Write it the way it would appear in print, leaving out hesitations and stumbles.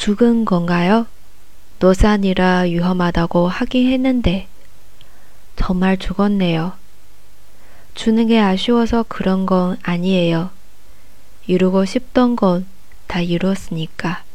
죽은 건가요? 노산이라 위험하다고 하긴 했는데 정말 죽었네요. 주는 게 아쉬워서 그런 건 아니에요. 이루고 싶던 건 다 이루었으니까.